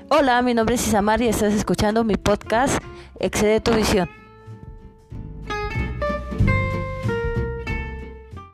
Hola, mi nombre es Isamar y estás escuchando mi podcast Excede tu visión.